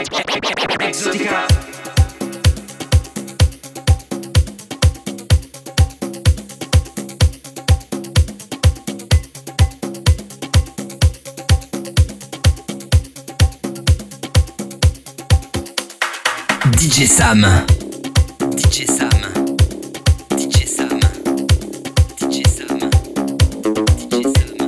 Exotica. DJ Sam. DJ Sam. DJ Sam. DJ Sam. DJ Sam.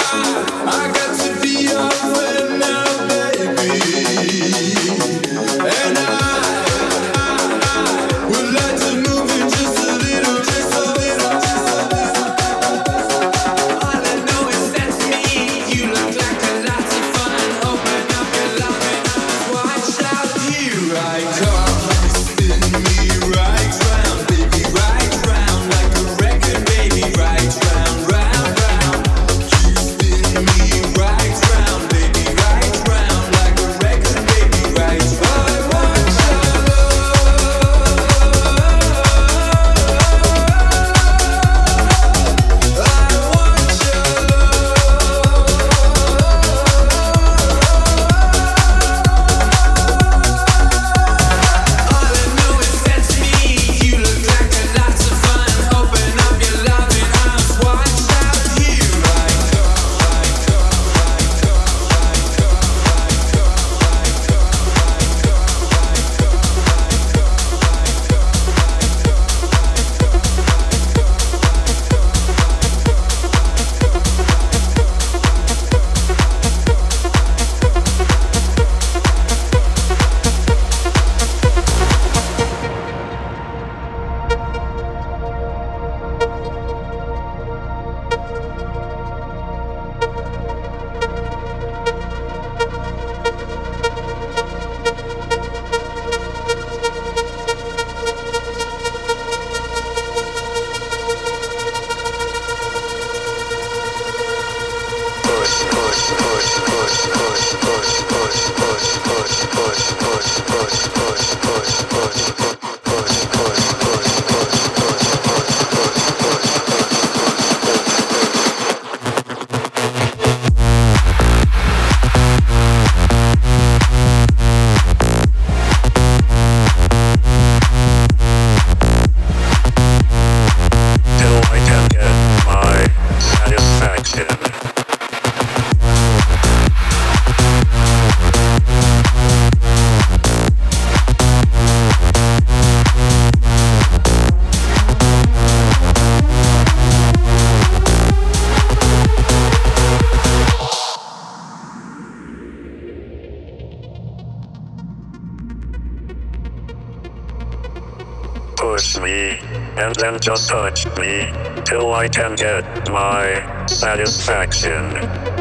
And then just touch me till I can get my satisfaction.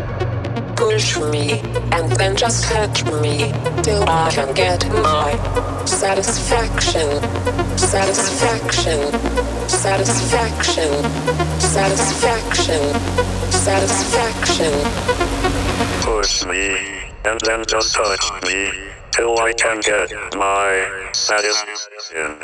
Push me and then just touch me till I can get my satisfaction. Satisfaction. Satisfaction. Satisfaction. Satisfaction. Push me and then just touch me till I can get my satisfaction.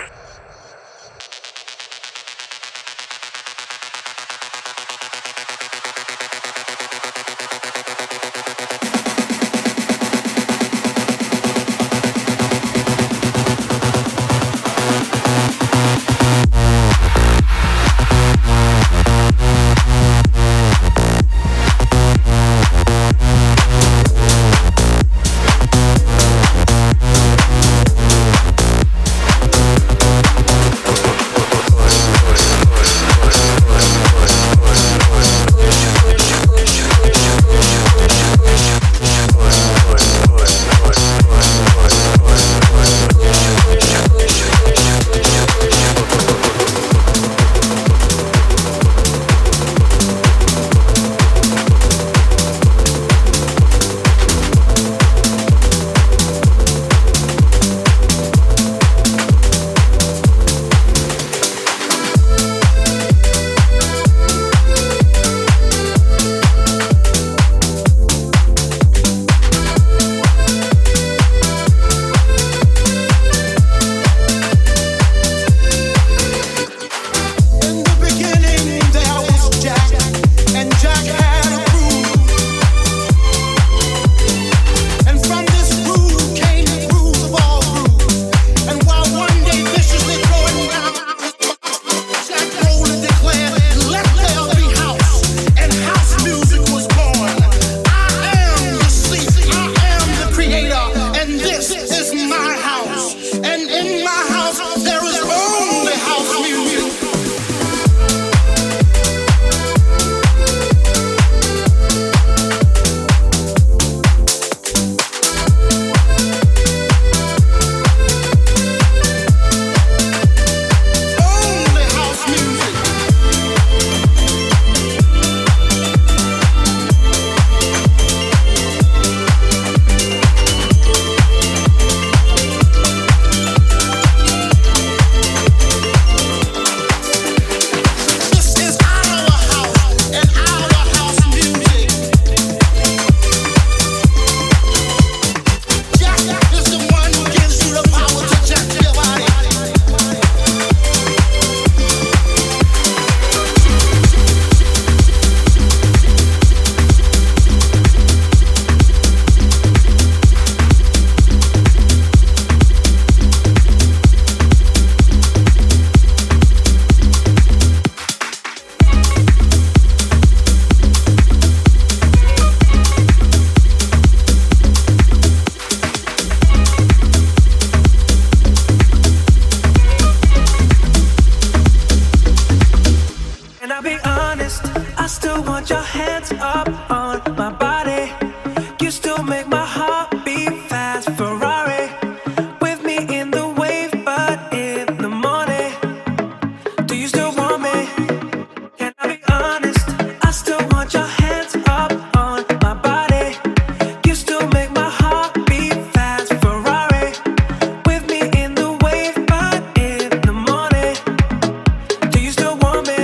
want your hands up on my body. You still make my heart beat fast. Ferrari with me in the wave, but in the morning. Do you still want me? Can I be honest? I still want your hands up on my body. You still make my heart beat fast. Ferrari with me in the wave, but in the morning. Do you still want me?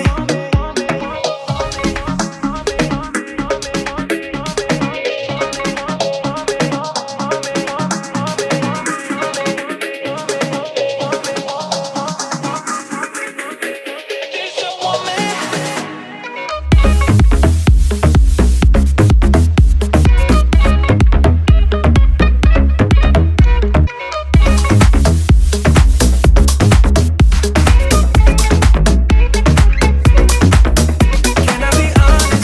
Can I be honest?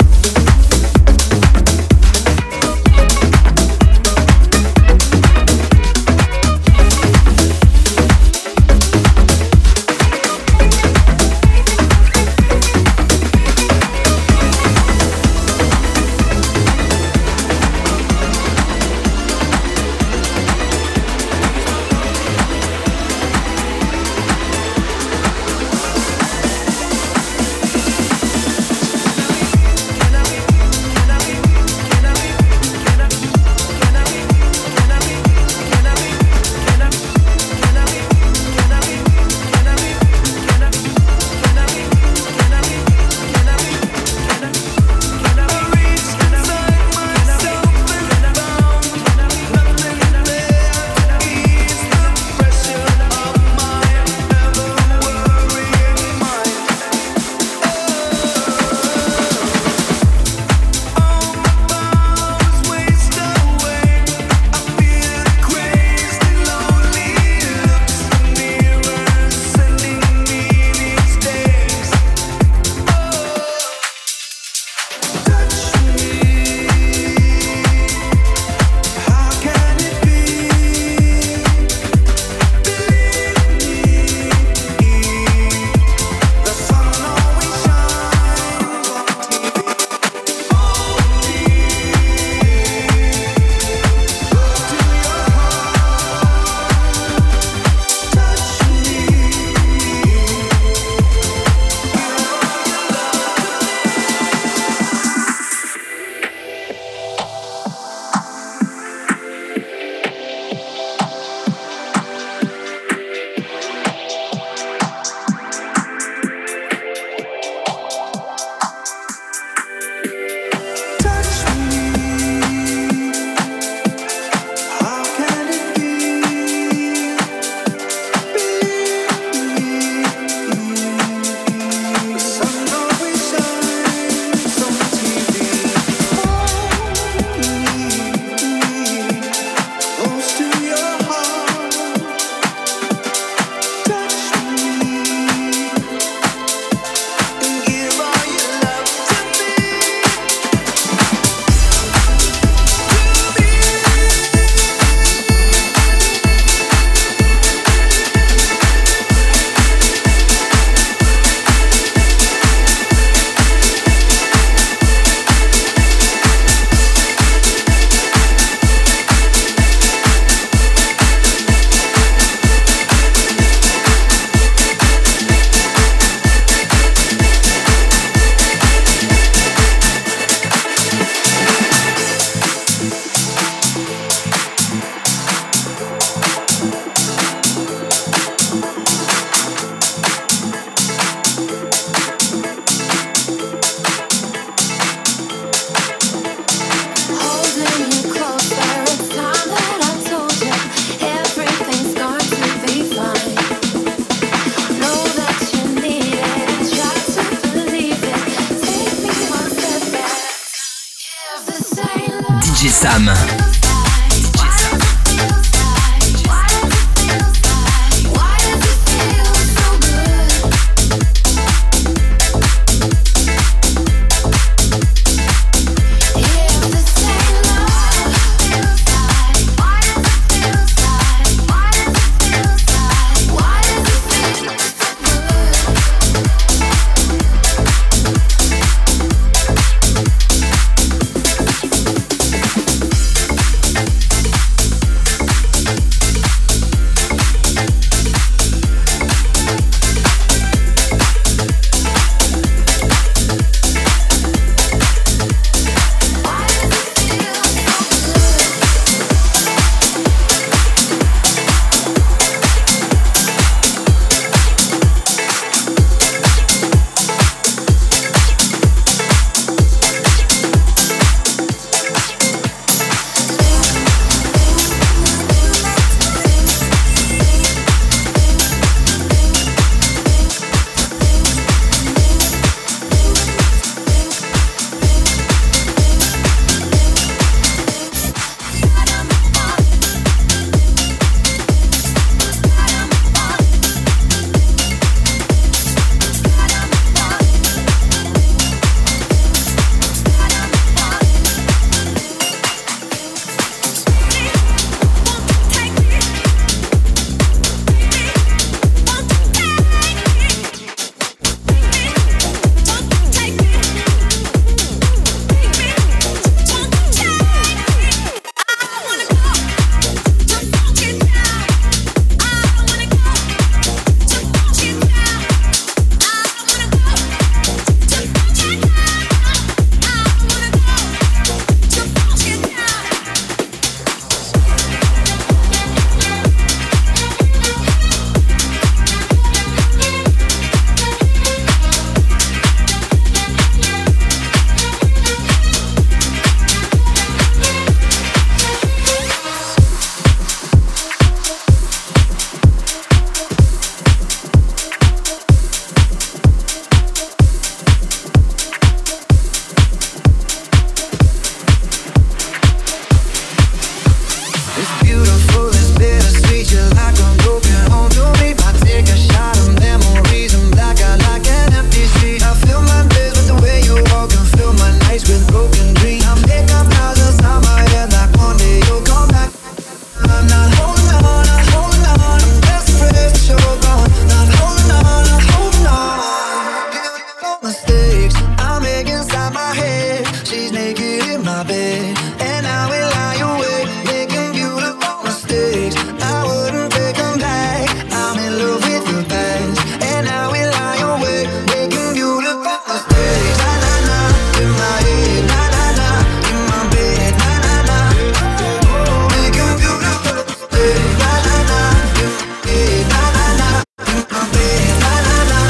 DJ Sam. my bed, and I will lie awake, making beautiful mistakes. I wouldn't take them back. I'm in love with the past, and I will lie awake, making beautiful mistakes. Na na na, in my head, na na na, in my bed, na na na, making beautiful mistakes. Na na na, in my head, na na na, in my bed, na na na,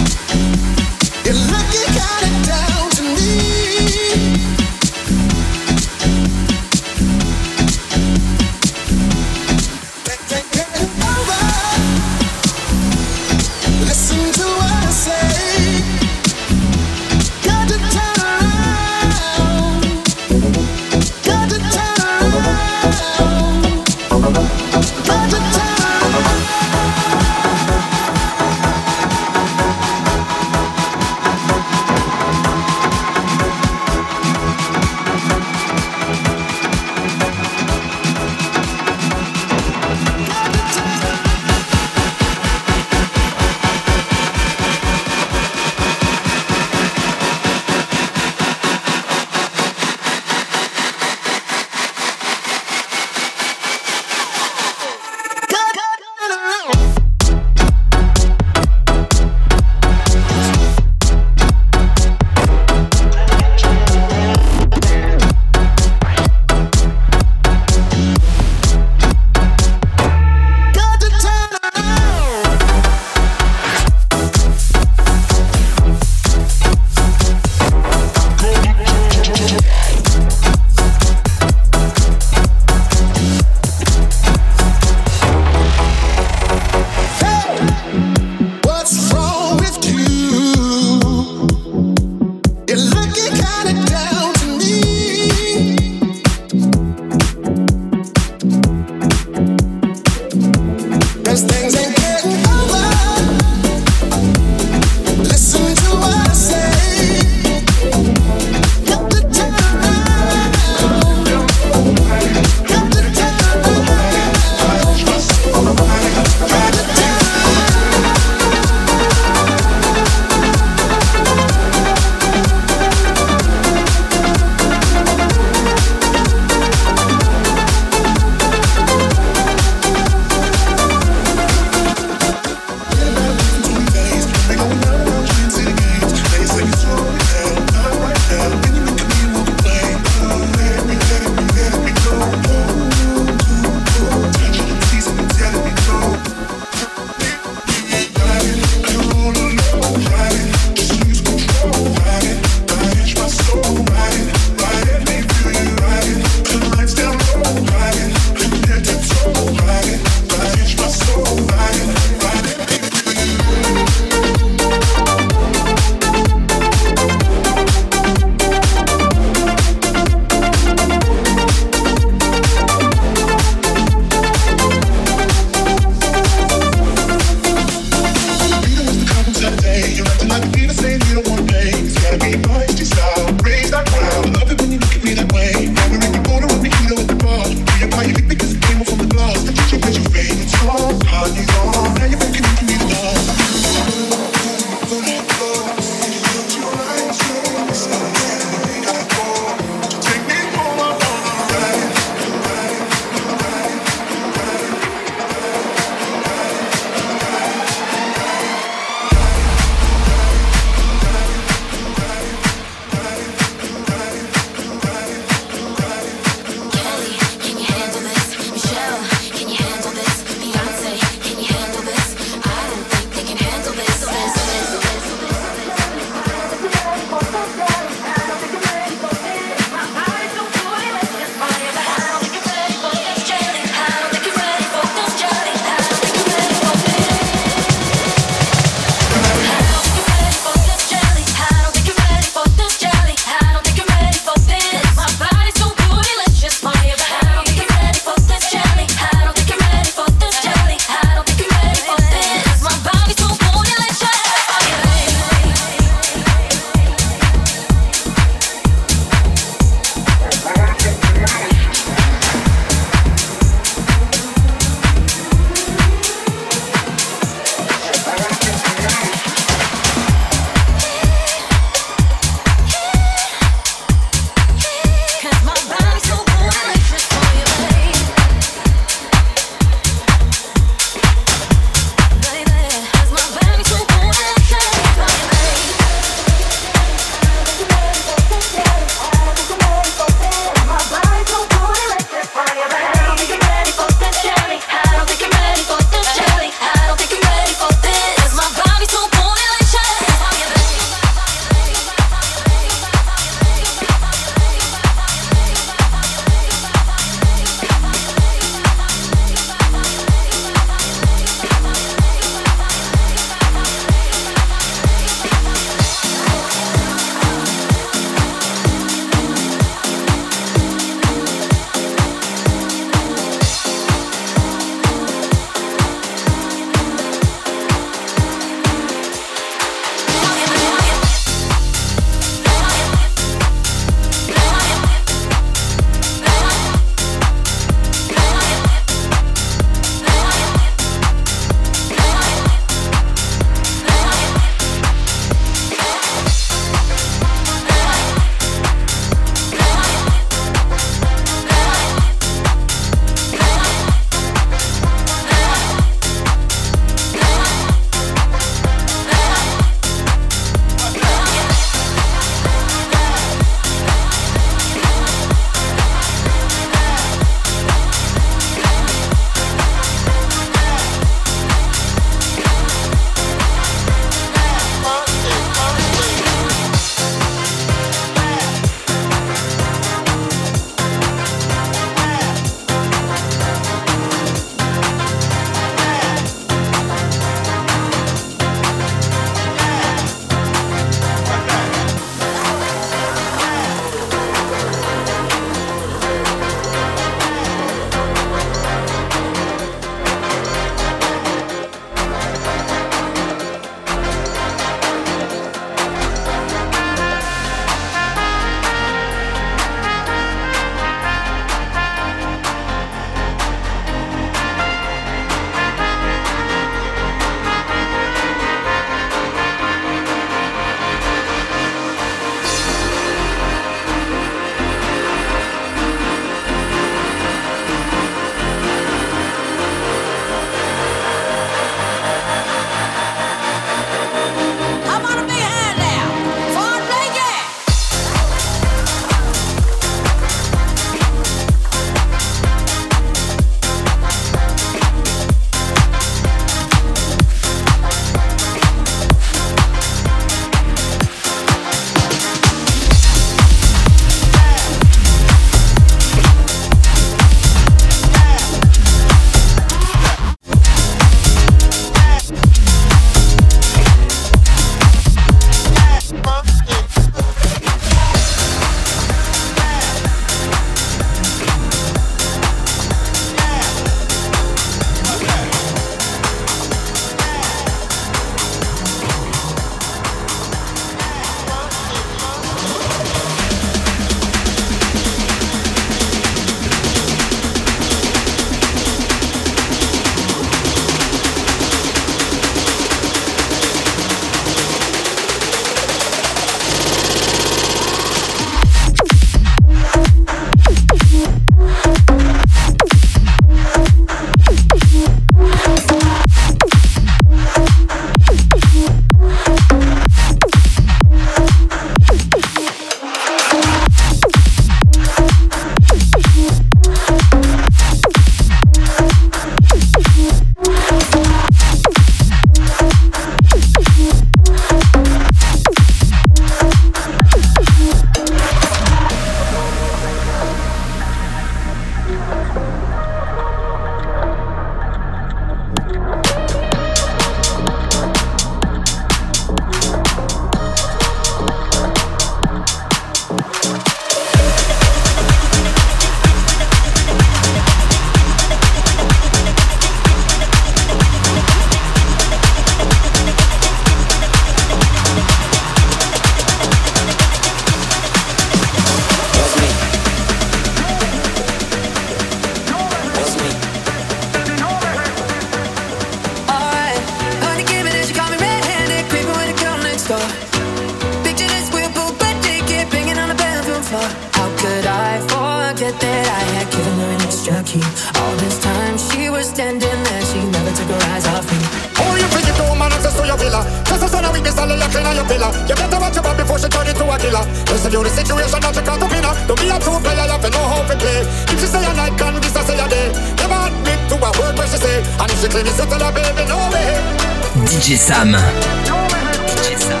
key. All this time she was standing there, she never took her eyes off me. Oh, you think you do, man, access to your villa. Just a son of weakness, I'll lock in on your pillar. You better watch your back before she turn into a killer. Listen to the situation, not to cut up in her. Don't be a true player, you have to know how to play. If she say a night, can this I say a day. Never admit to a word where she say. And if she claim it's settle her, baby, no way. DJ Sam. DJ Sam.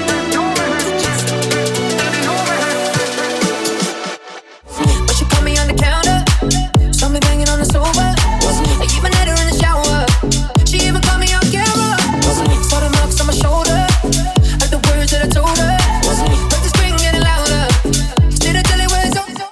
But she caught me on the counter, saw me banging on the sofa. I even had her in the shower. She even caught me on camera. Saw the marks on my shoulder, heard the words that I told her. Heard the scream getting louder, stayed until it was over.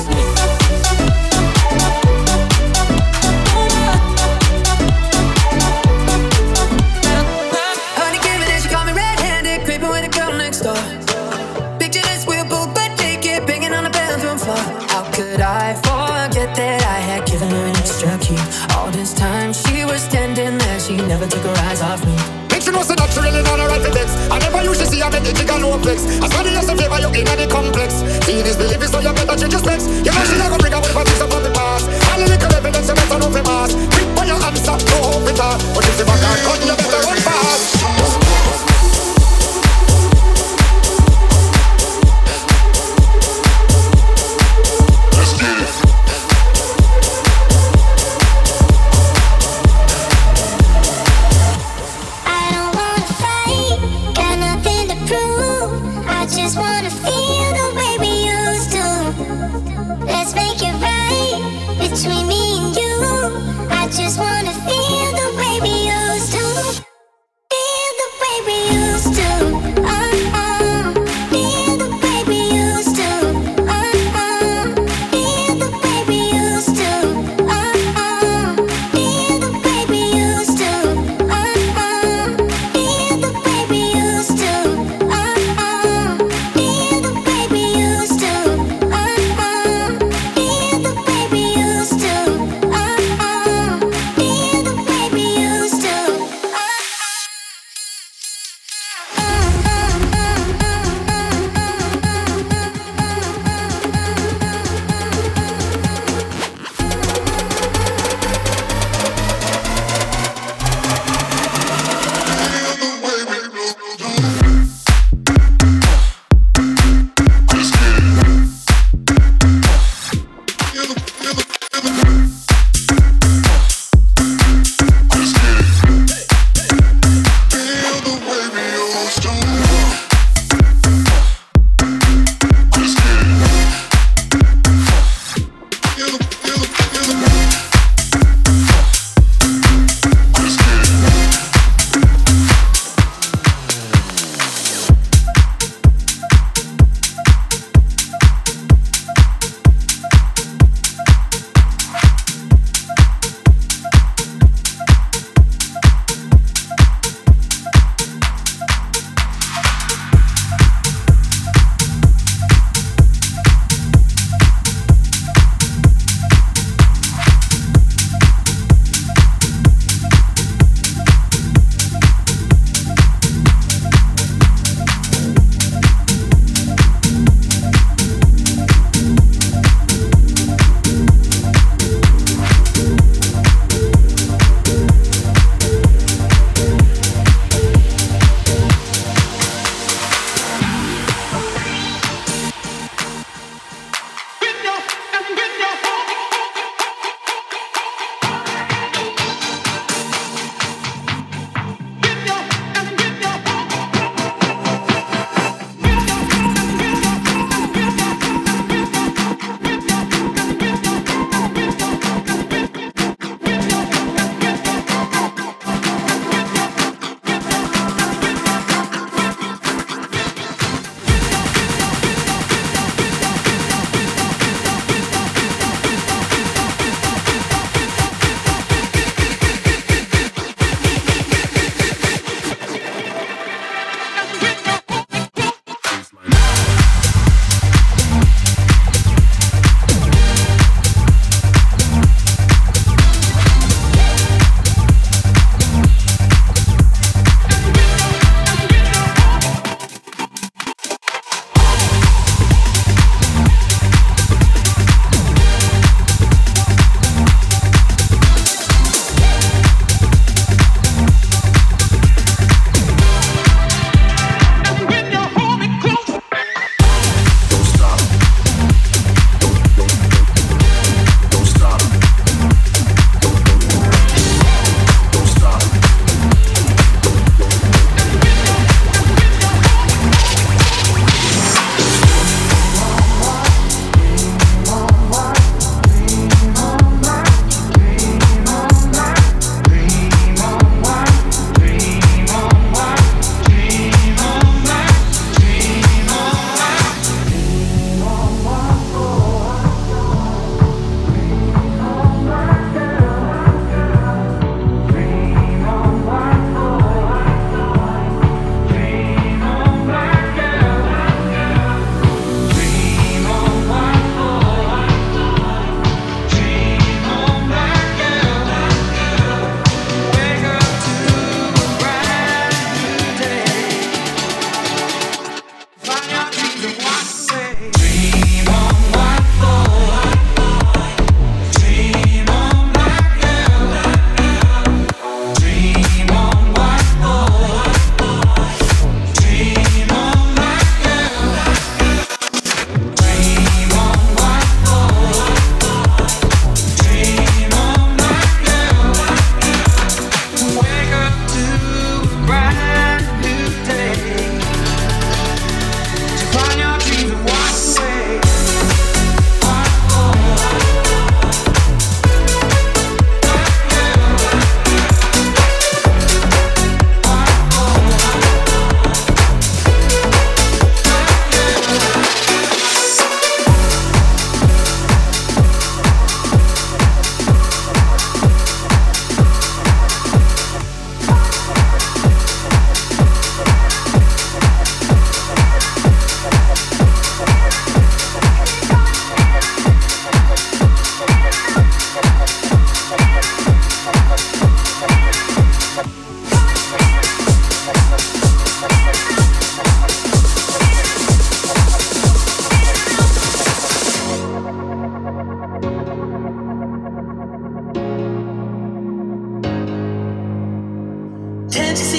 Honey came in and she caught me red-handed, creeping with a girl next door. Picture this, we're both butt naked, banging on the bathroom floor. How could I forget that I had given her an extra key? All this time she was standing there, she never took her eyes off me. Make sure you know so that you really know the right for this. I never usually see her make the jig and no flex. As many as the favor you in the complex. Seeing this belief is so you better change your specs. You know she never bring a whole piece from the past. All the little evidence you better know for mass. Quick by your hands up, no hope with her. But if you back and cut, you better run fast. Just wanna feel the way we used to. Let's make it right between me and you. I just wanna feel the way we used to.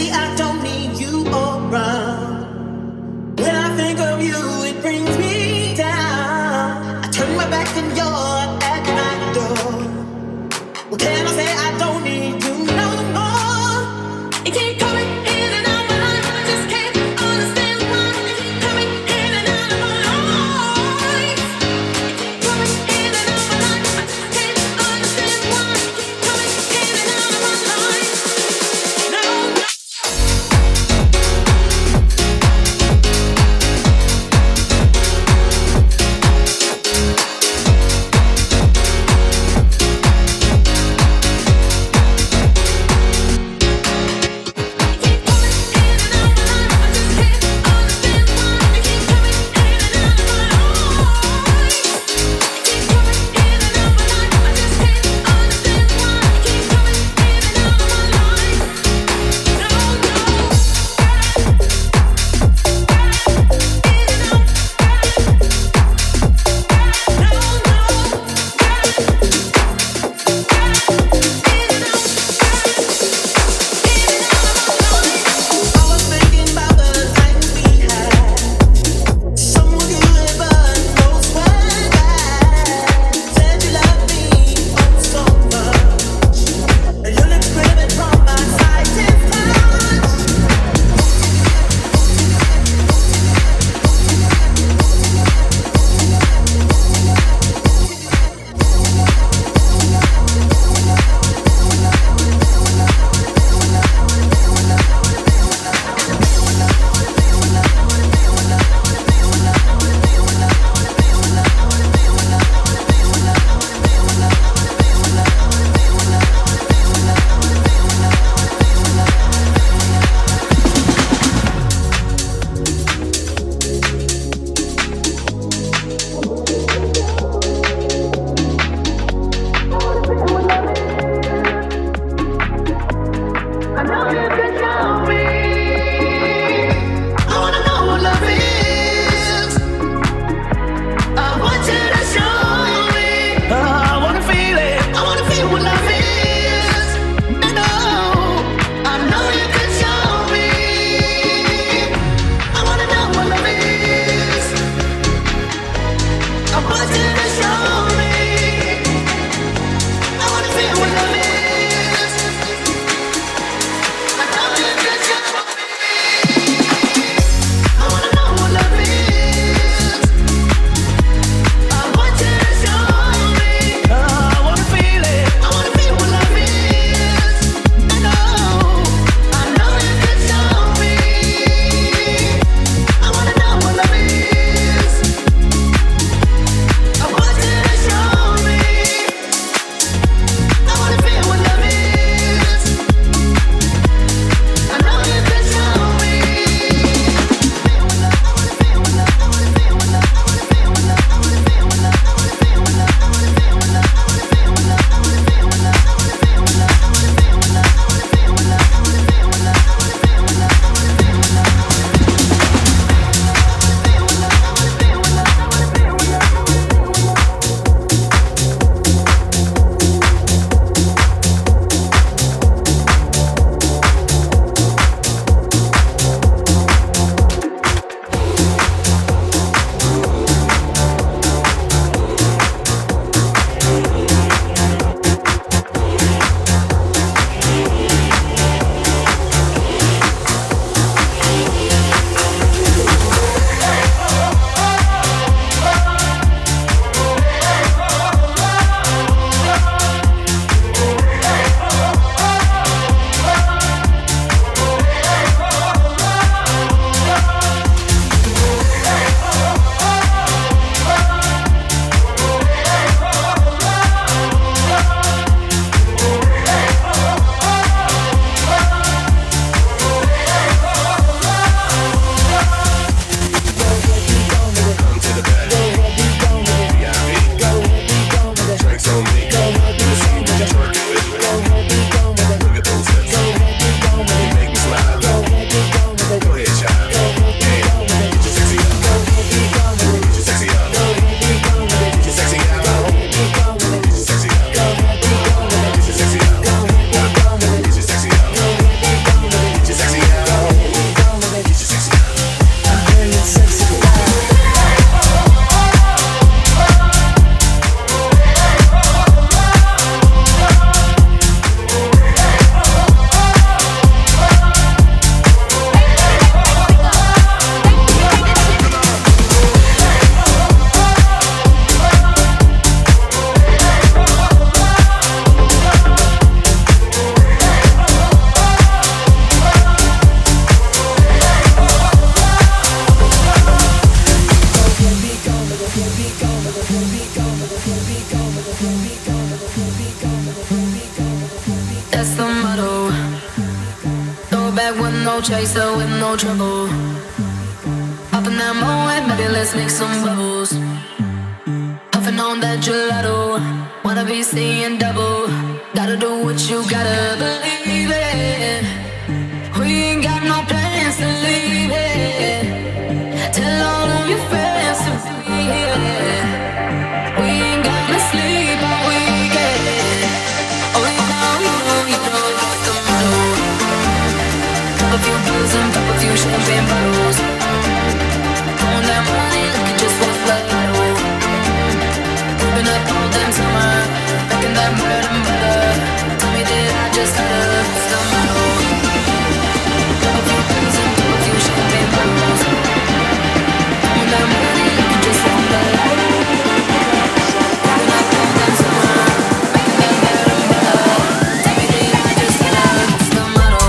I don't need you around. When I think of you, it brings me down. I turn my back and you're at my door. What can I say? I don't need you no more. You keep coming in and out my life. I just can't understand why you keep coming in and out of my life. You keep coming in and out my life. I just can't understand why you keep coming in and out of my life. No, no. with no chaser, with no trouble. Up in that moment, maybe let's make some bubbles. Puffing on that gelato, wanna be seeing double. Gotta do what you gotta believe it. We ain't got no plans to leave it. Tell all of your friends to be here. We ain't gonna sleep all weekend. Oh, you know that's the motto. Pop a few pills and pop a few champagne bottles. On that money, looking just like lotto. Whipping up all damn summer, making that bread and butter. Tell me did I just stutter? That's the motto. Pop a few pills and pop a few champagne bottles. On that money, looking just like lotto. Whipping up all damn summer, making that bread and butter. Tell me did I just stutter? That's the motto.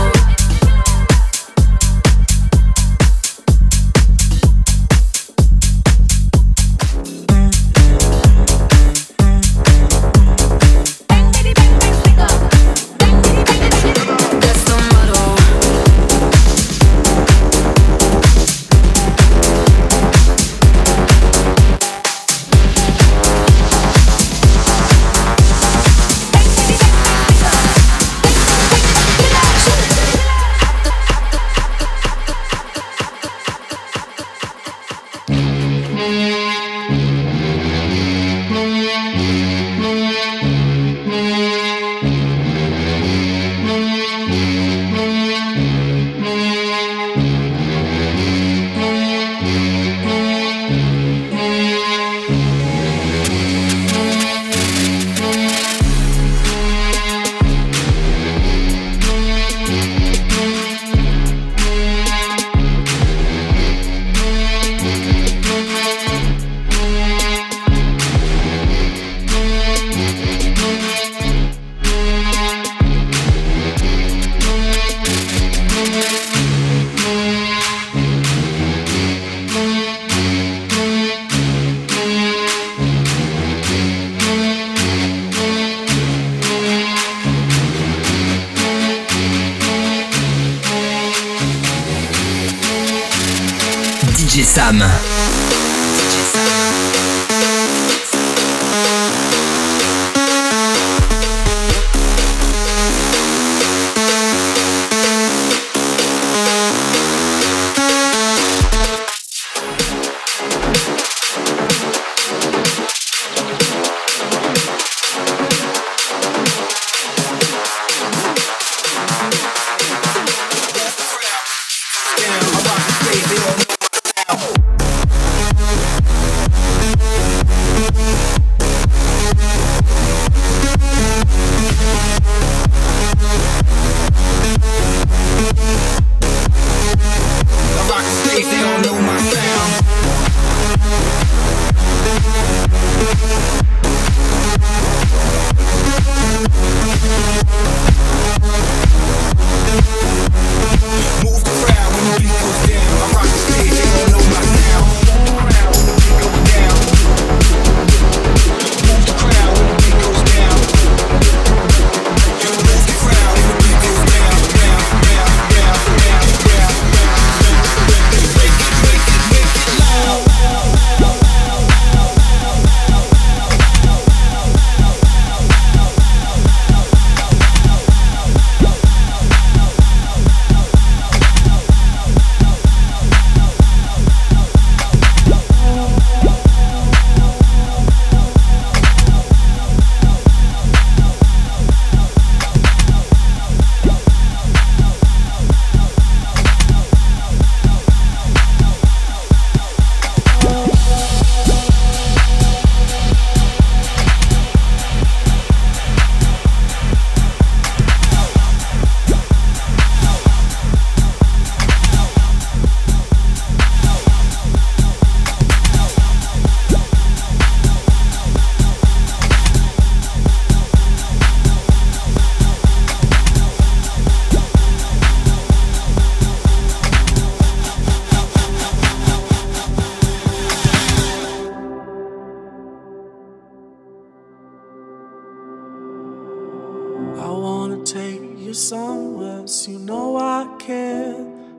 DJ Sam.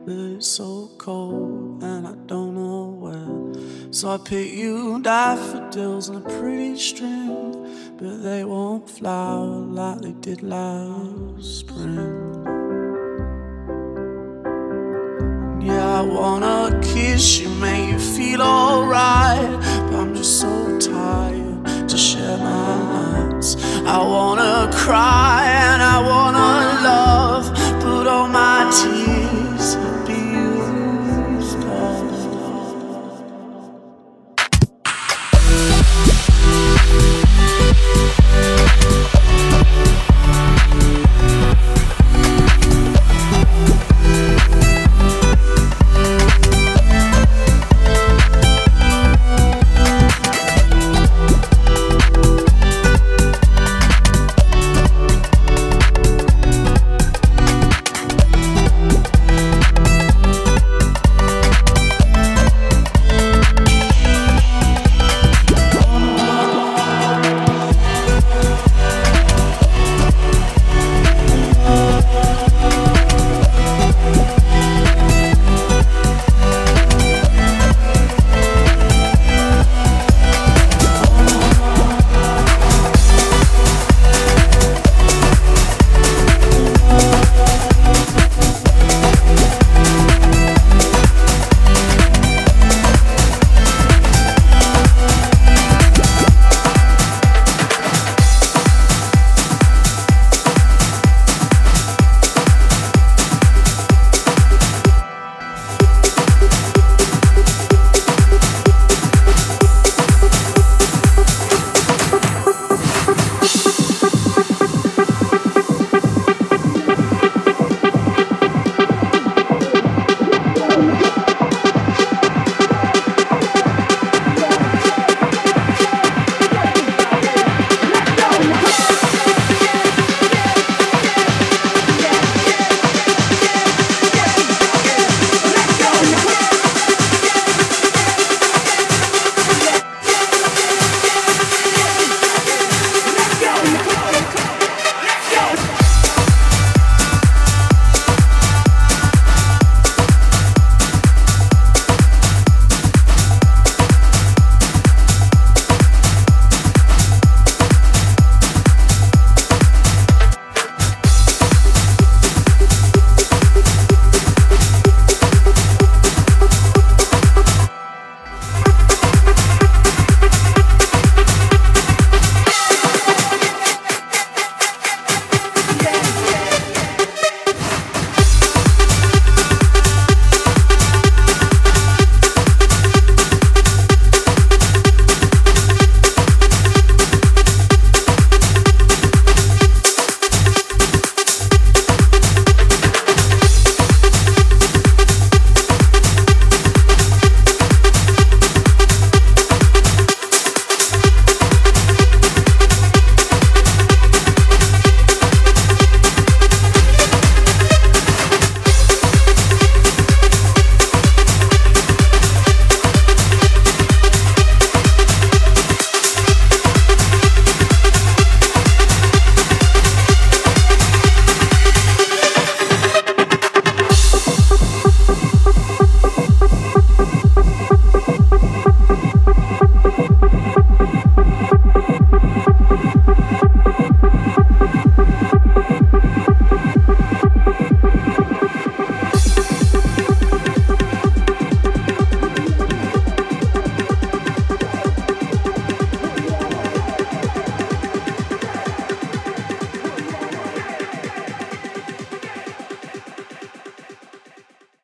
but it's so cold and I don't know where. So I pick you daffodils on a pretty string, but they won't flower like they did last spring. Yeah, I wanna kiss you, make you feel alright, but I'm just so tired to share my nights. I wanna cry and I wanna